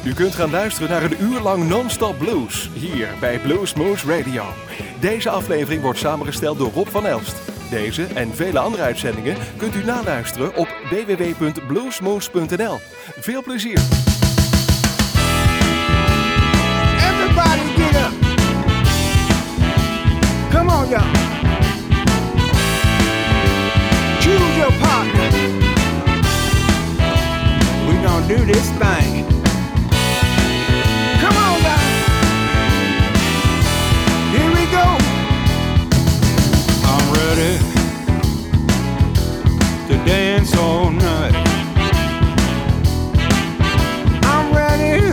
U kunt gaan luisteren naar een uur lang non-stop blues, hier bij Bluesmoose Radio. Deze aflevering wordt samengesteld door Rob van Elst. Deze en vele andere uitzendingen kunt u naluisteren op www.bluesmoose.nl. Veel plezier! Everybody get up! Come on, y'all! Choose your partner. We gonna do this thing. Come on, guys. Here we go. I'm ready to dance all night. I'm ready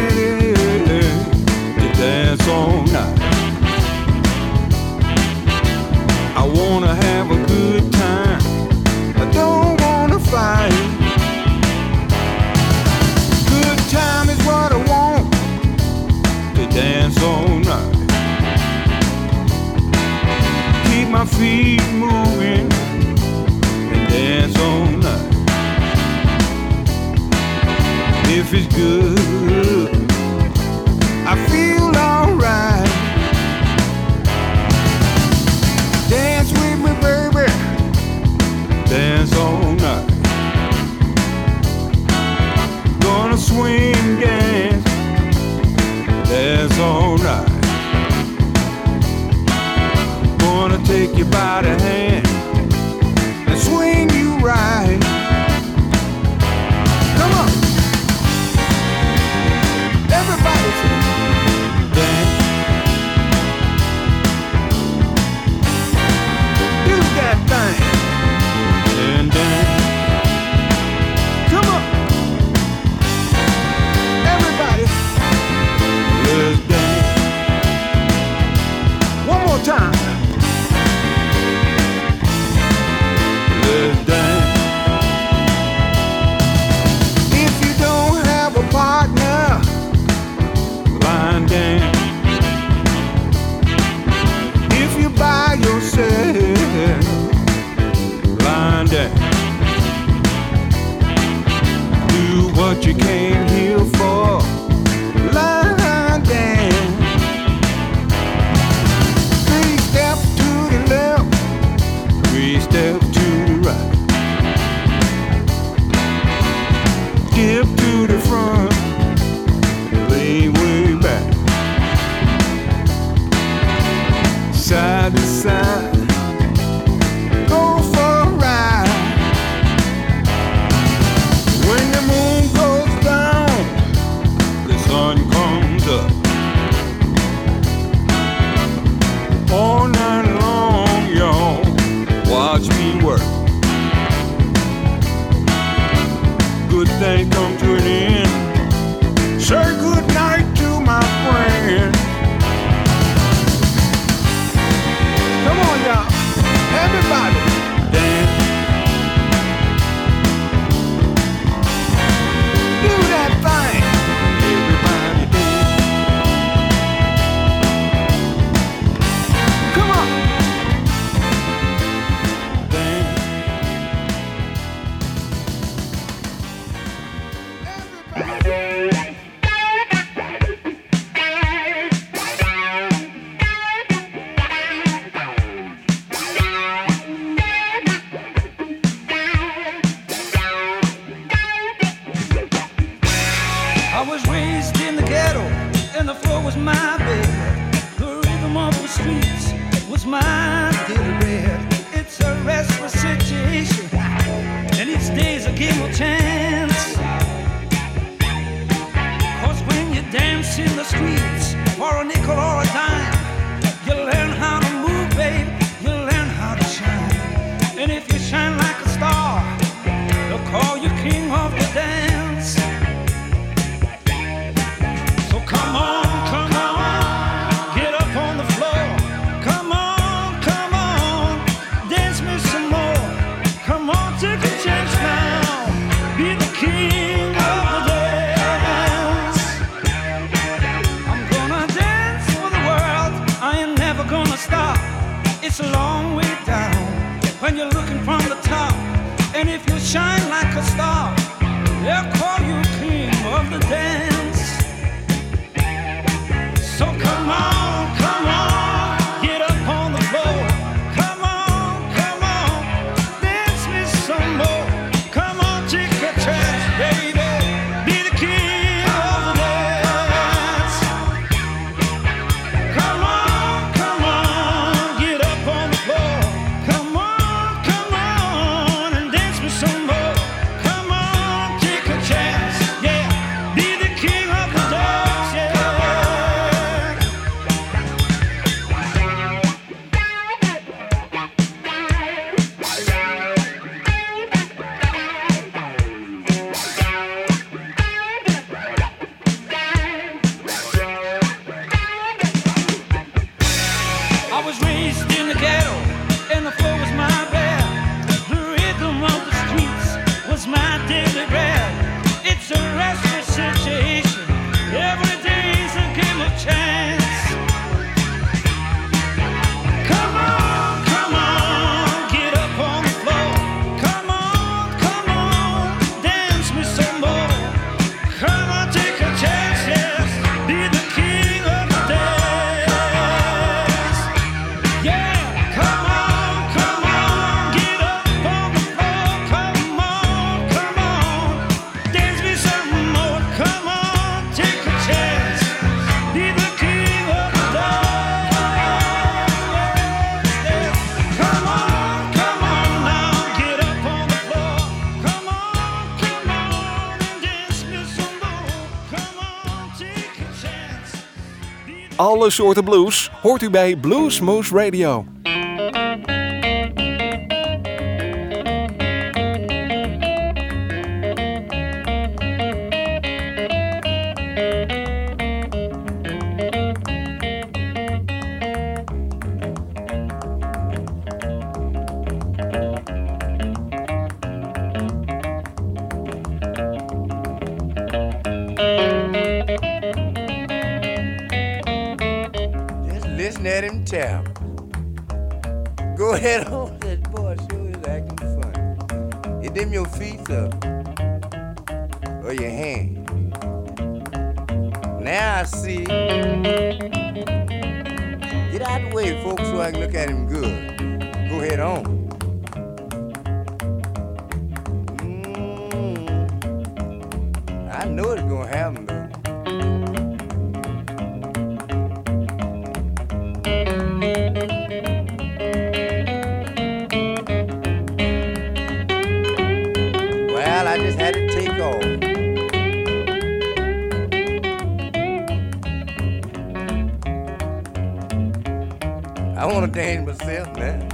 to dance all night. I wanna have a good time. I don't wanna fight. Good time is what I want, to dance all night. Keep my feet moving and dance all night. If it's good, I feel alright. Dance with me, baby. Dance all night. Gonna swing, dance, dance all night. Gonna take you by the hand and swing you right. Come on, everybody dance. Do that thing. And dance. Come on, everybody, let's dance. One more time. Let's dance. If you don't have a partner, line dance. If you're by yourself, line dance. Do what you came here for, line dance. 3 steps to the left, 3 steps to the right. Dip to the front, lean way back. Side to side, go for a ride. When the moon goes down, the sun comes up. All night long, y'all, watch me work. Good thing come to an end. Say good night to my friend. Come on, y'all, everybody, dance. Do that thing. Everybody dance. Come on. Dance. I was raised in the ghetto, and the floor was my bed. The rhythm of the streets was my daily bread. It's a restless situation, and each day's a game of chance. 'Cause when you dance in the streets for a nickel or a dime, you learn how to move, babe, you learn how to shine. And if you shine like a star, they'll call you king of the dance. So come on, get up on the floor. Come on, dance me some more. Come on, take a chance now, be the king of the dance. I'm gonna dance for the world, I ain't never gonna stop. It's a long way down when you're looking from the top. And if you shine like a star, they'll call you king of the dance. is my daily bread. It's a restless situation. Every day's a game of chance. Come on, get up on the floor. Come on, dance me some more. Come on, take a chance, yes. Be the king of the dance. Yeah, come on, get up on the floor. Come on, dance me some more. Come on, take a chance. Be the king of the dance. Come on now, get up on the floor. Come on, and dance me some more. Come on, take a chance. Alle soorten blues hoort u bij Blues Moose Radio. Just listen at him tap. Go ahead on, that boy sure is acting funny. Hit them your feet up or your hand. Now I see. Get out of the way, folks, so I can look at him good. Go ahead on. I know it's gonna happen though. Well, I just had to take off. I want to dance myself now.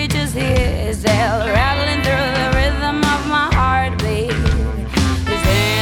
Rattling through the rhythm of my heartbeat. This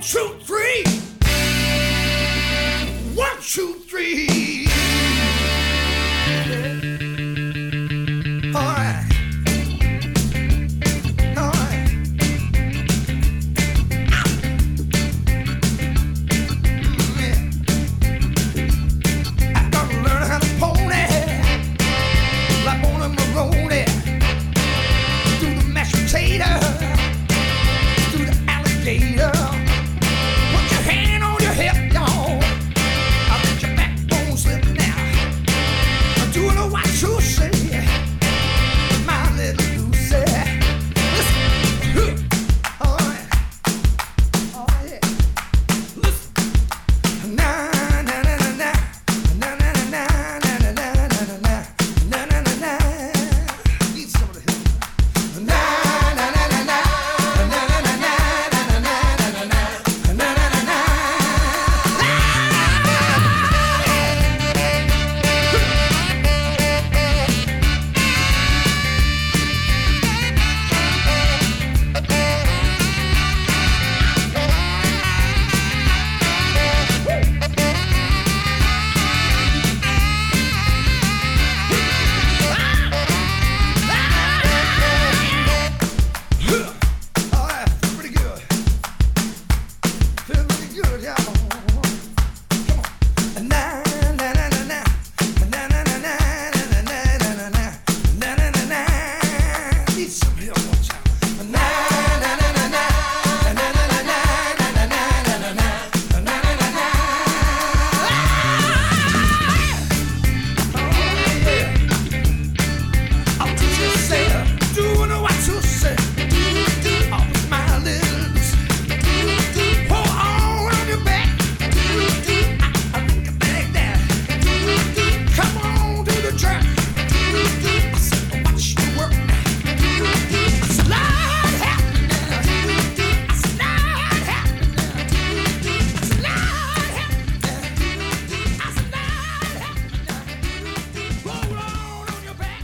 2, 3. 1, 2, 3. All right. All right. Yeah. I gotta learn how to pony like on a Maroney. Do the mashed potato, do the alligator. Put your hand on your hip, y'all. I'll let your backbone slip now. I'm doing what you say, my little Lucy. Listen, all right, oh yeah. Listen, na na na na na na na na na na na na na na na na. Need some of the hip. Na na na na na na na na na na na na na na na. All right, pretty good. Feel pretty good, y'all. Come on. Na na na na na na na na na na na na na na na na. Need some help, watch out. Na na na na na na na na na na na na na na na. I'll do you say, doing what you say. Oh, my little Lucy. Hold on your back. I think I like that. Come on to the track. I said, watch you work. Slide happening. Slide happening. Slide happening. Slide happening. Hold on your back.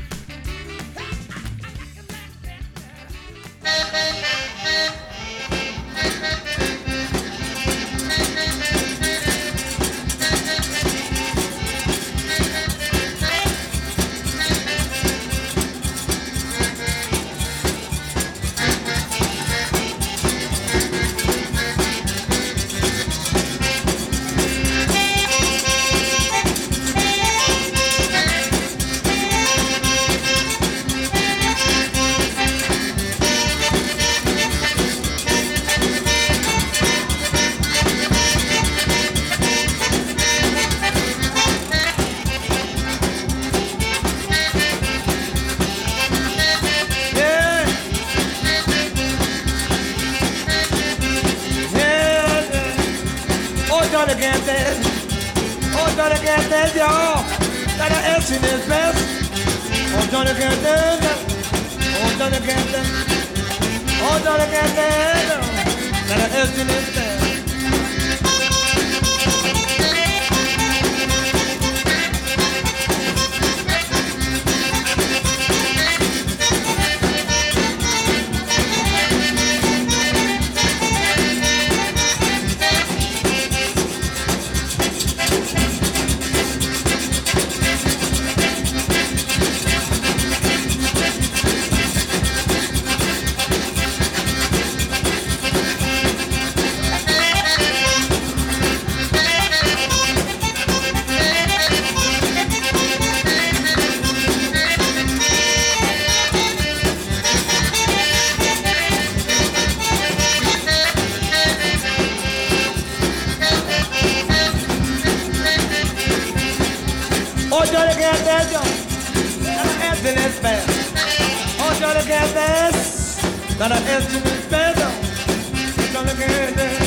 Johnny can't dance, y'all. That action is best. Oh, Johnny can't dance. Oh, Johnny can't dance. Oh, Johnny can't dance. That action is best. Oh, Johnny can't dance, y'all. That action is best. Oh, Johnny can't dance. That action is best, y'all. Johnny can't dance.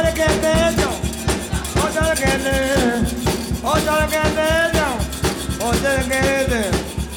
Johnny Candy, oh Johnny Candy, oh Johnny Candy, oh Johnny Candy.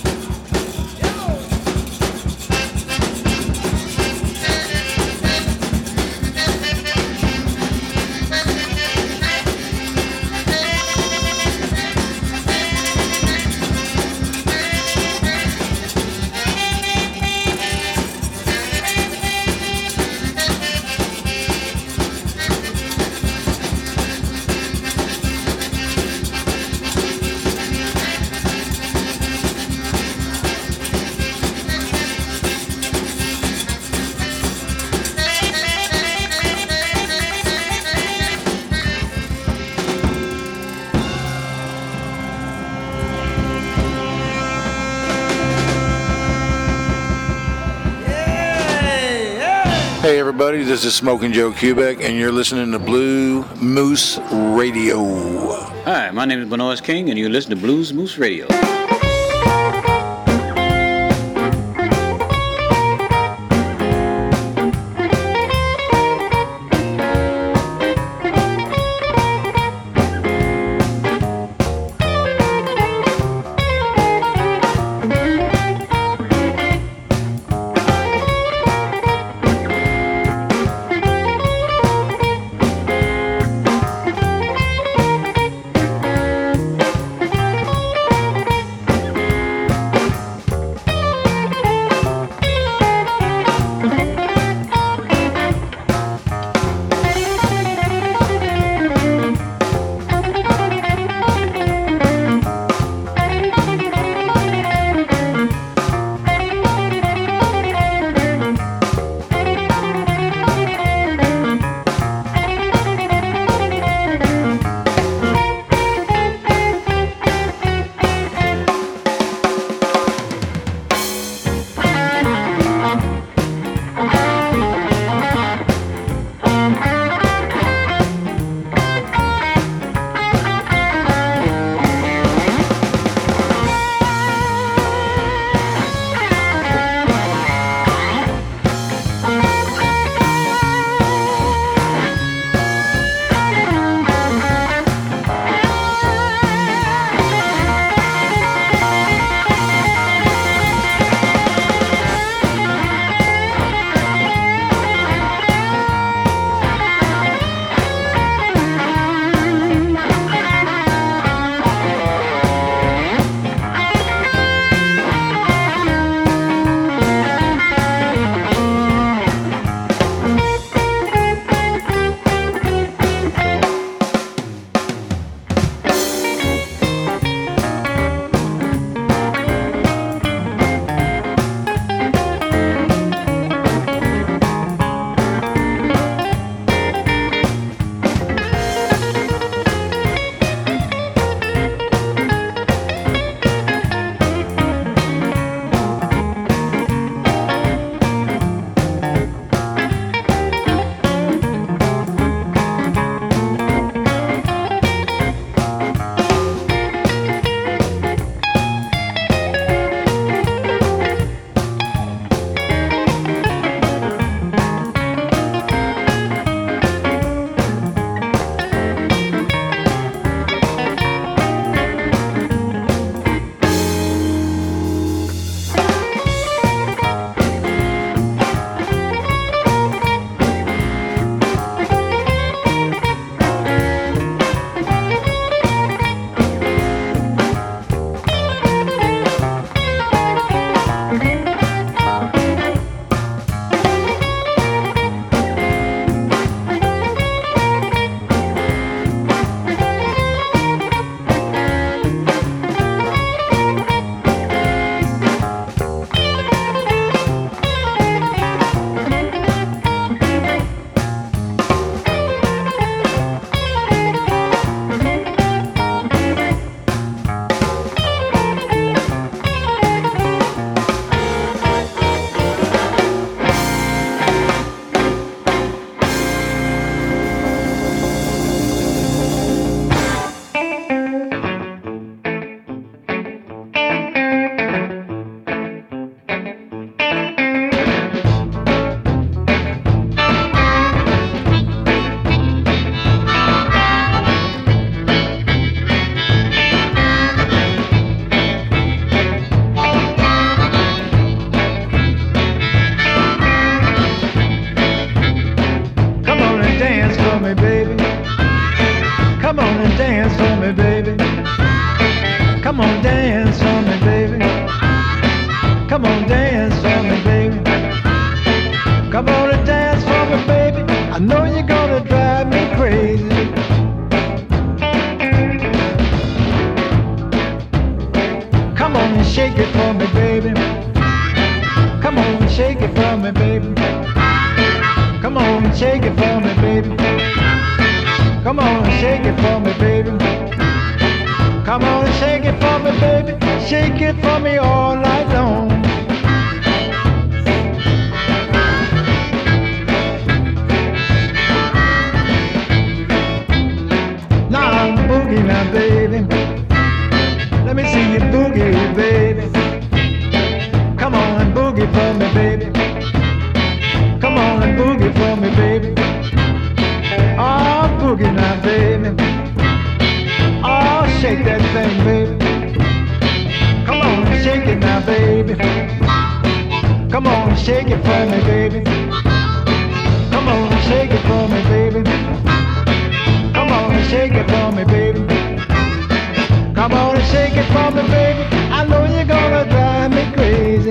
Hey everybody, this is Smoking Joe Kubek, and you're listening to Blue Moose Radio. Hi, my name is Benoist King, and you listen to Blues Moose Radio. me, baby. Come on and dance for me, baby. Come on, dance for me, baby. Come on, dance for me, baby. Come on and dance for me, baby. I know you're gonna drive me crazy. Come on and shake it for me, baby. Come on and shake it for me, baby. Come on and shake it for me, baby. Come on and shake it for me, baby. Come on and shake it for me, baby. Shake it for me all night long. Now I'm boogie now, baby. Let me see you boogie, baby. Come on and boogie for me, baby. Come on and boogie for me, baby. Oh, boogie now, baby. Oh, shake that thing, baby. Come on and shake it now, baby. Come on and shake it for me, baby. Come on and shake it for me, baby. Come on and shake it for me, baby. Come on and shake it for me, baby. I know you're gonna drive me crazy.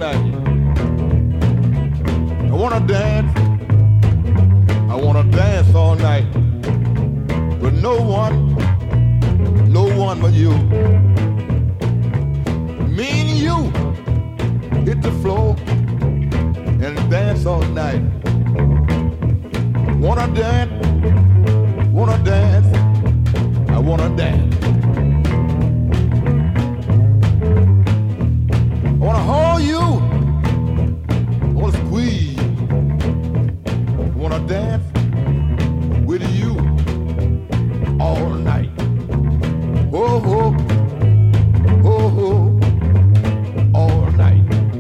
night. I wanna dance. I wanna dance all night. But no one but you. Me and you hit the floor and dance all night. Wanna dance, I wanna dance. I wanna hold you, I wanna squeeze. I wanna dance with you all night. Oh, oh, oh, oh, all night.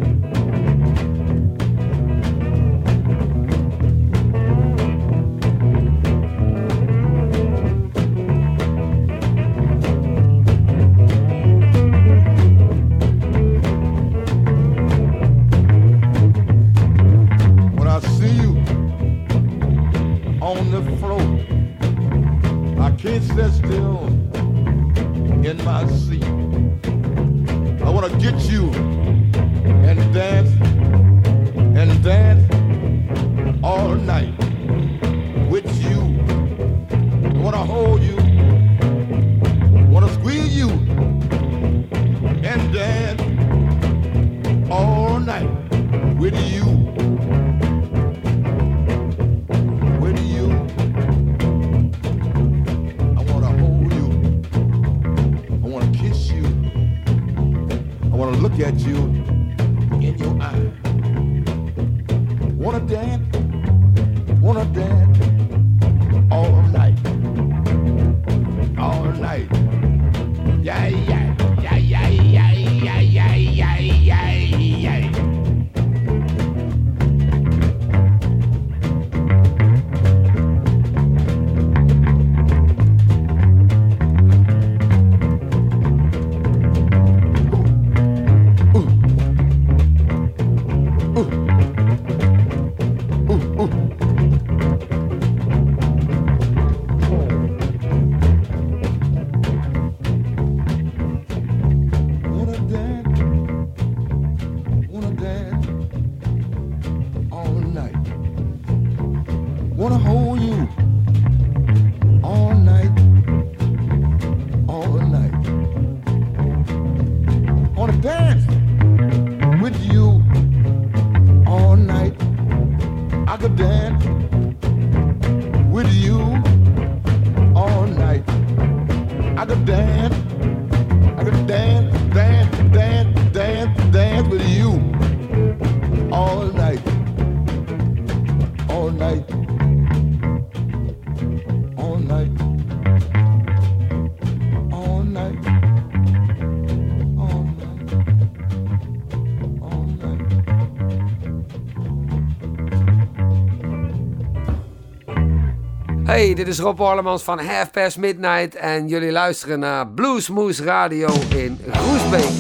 When I see you on the floor, I can't sit still in my seat. I wanna get you and dance all night with you. I wanna hold you, wanna squeeze you and dance all night with you. With you. I wanna hold you. I wanna kiss you. I wanna look at you in your eye. Wanna dance all night. All night. Yeah, yeah, yeah, yeah, yeah, yeah, yeah, yeah, yeah, yeah. Wanna dance all night. Wanna hold you all night. Wanna dance with you all night. I could dance with you all night. I could dance with you all night. All night. All night. All night. All night. All night. Hey, dit is Rob Orlemans van Half Past Midnight en jullie luisteren naar Bluesmoose Radio in Groesbeek.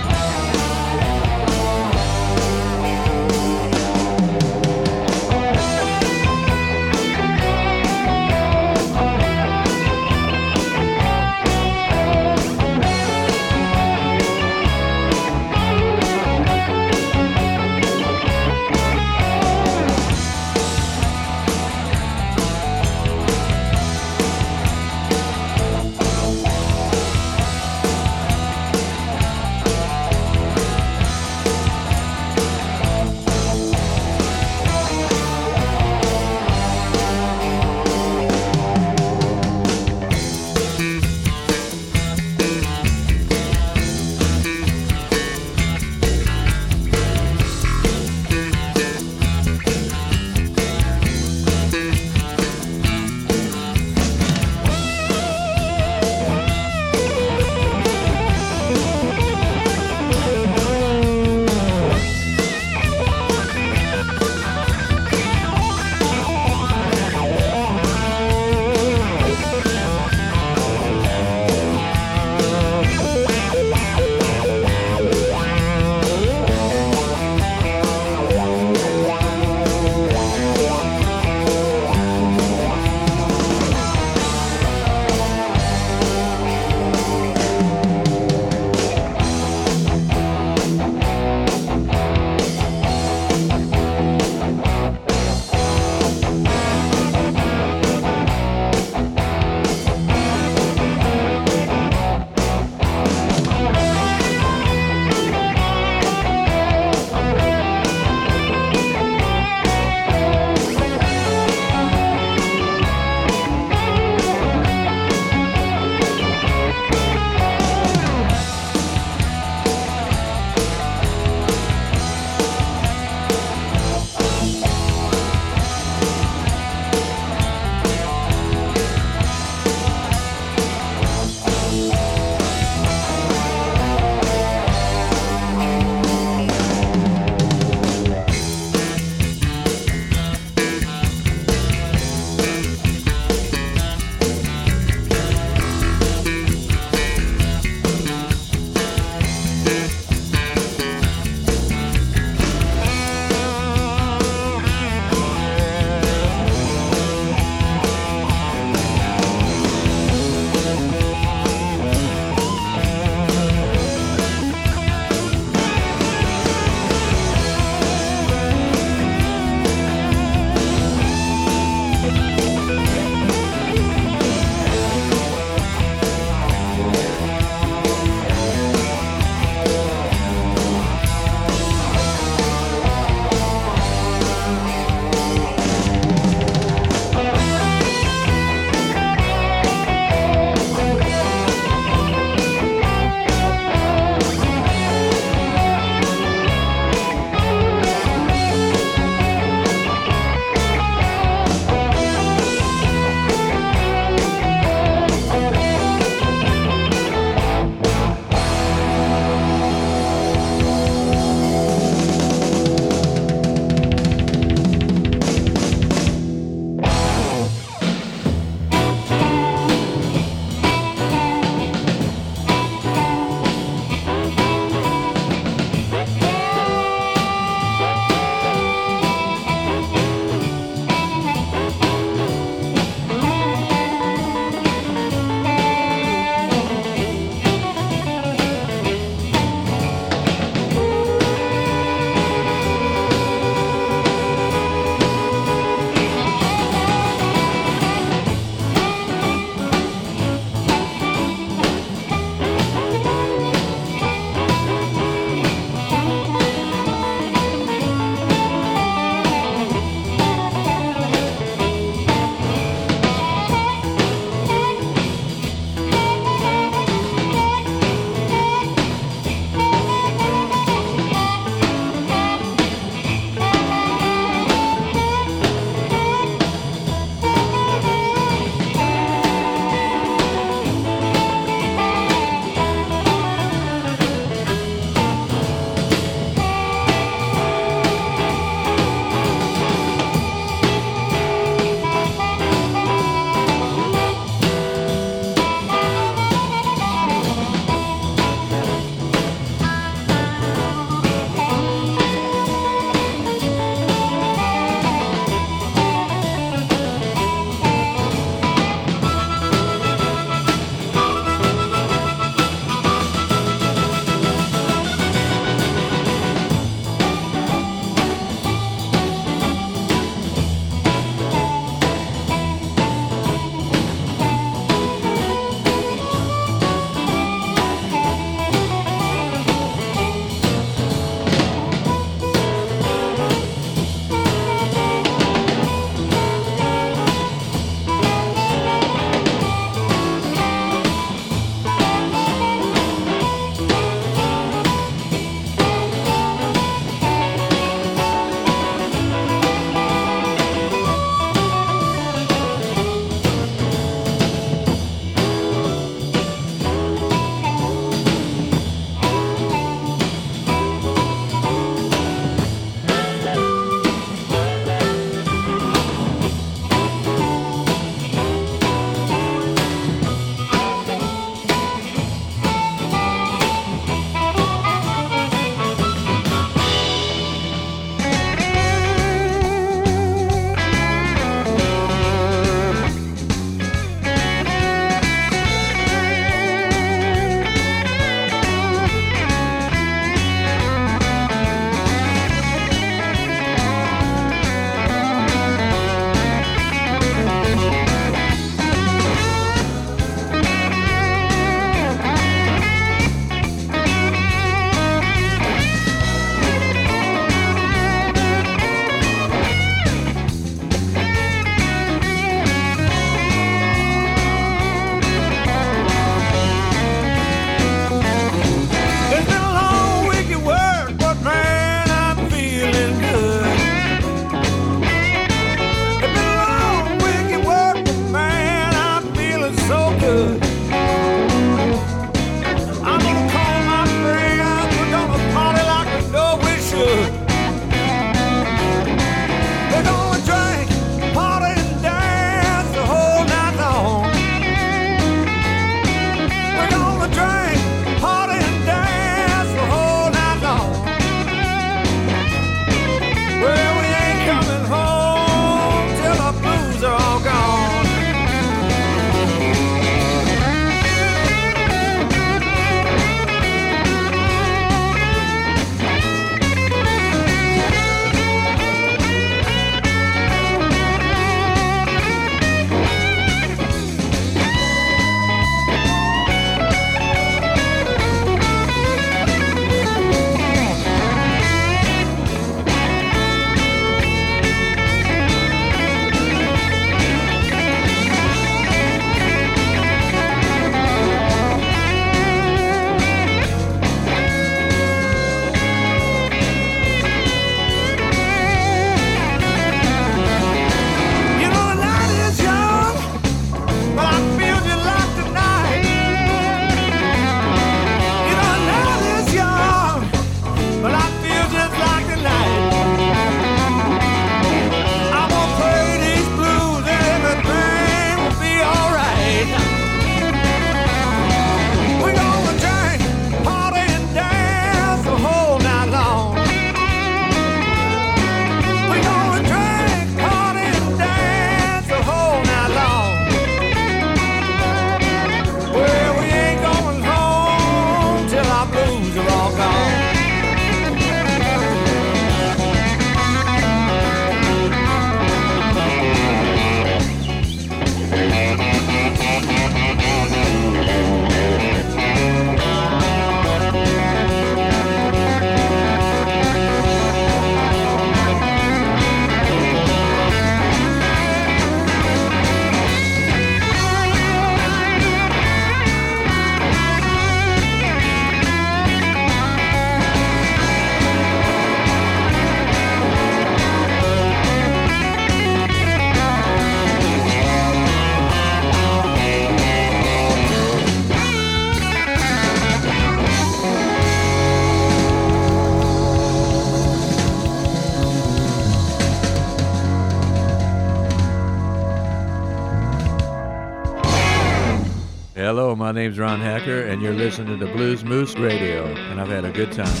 Hello, my name's Ron Hacker, and you're listening to Blues Moose Radio, and I've had a good time.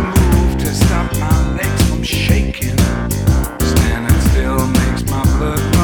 Standing still makes my blood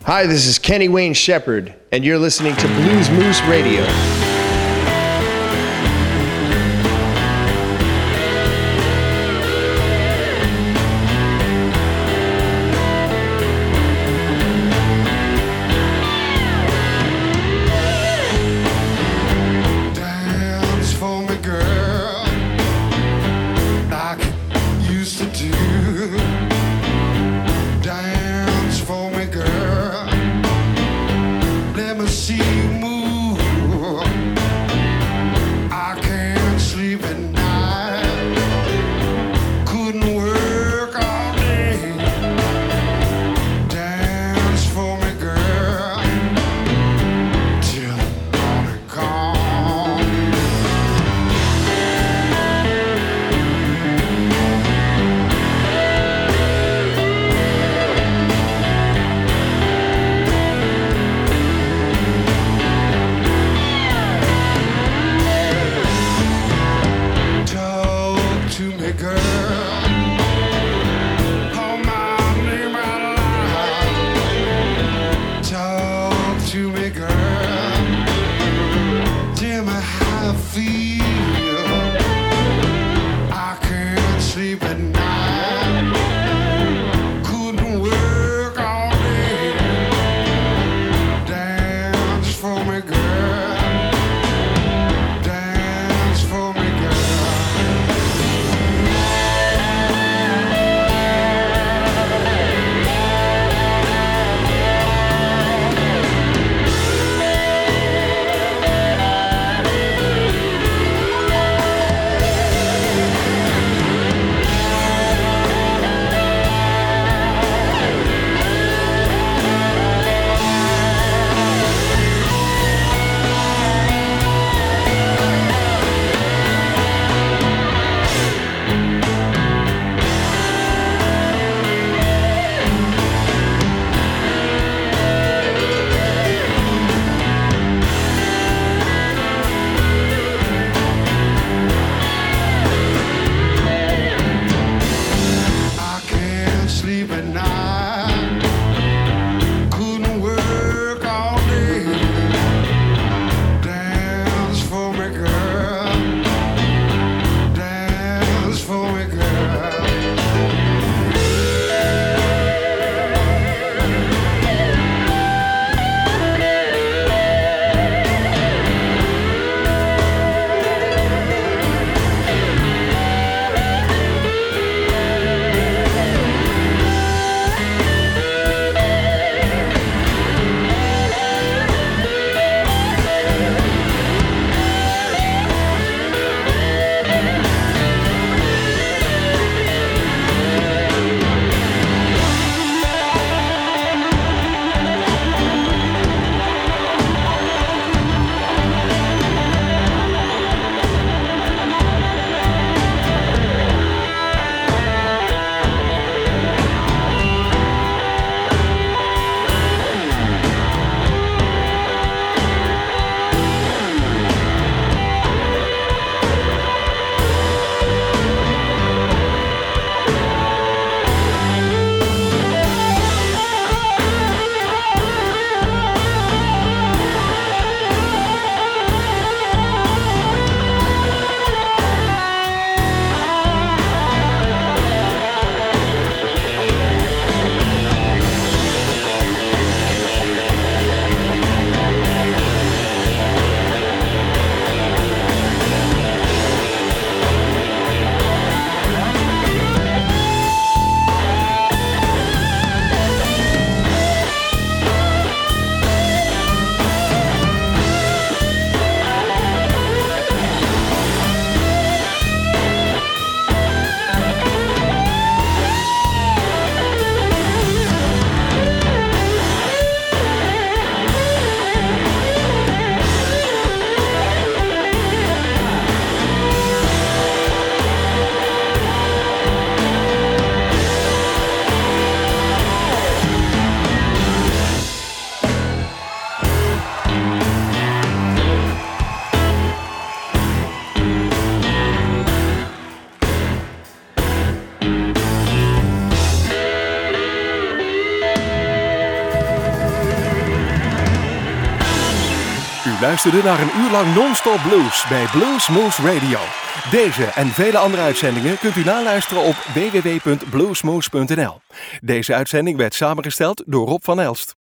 Hi, this is Kenny Wayne Shepherd, and you're listening to Blues Moose Radio. See you move. luisterde naar een uur lang non-stop blues bij Blues Moose Radio. Deze en vele andere uitzendingen kunt u naluisteren op www.bluesmoose.nl. Deze uitzending werd samengesteld door Rob van Elst.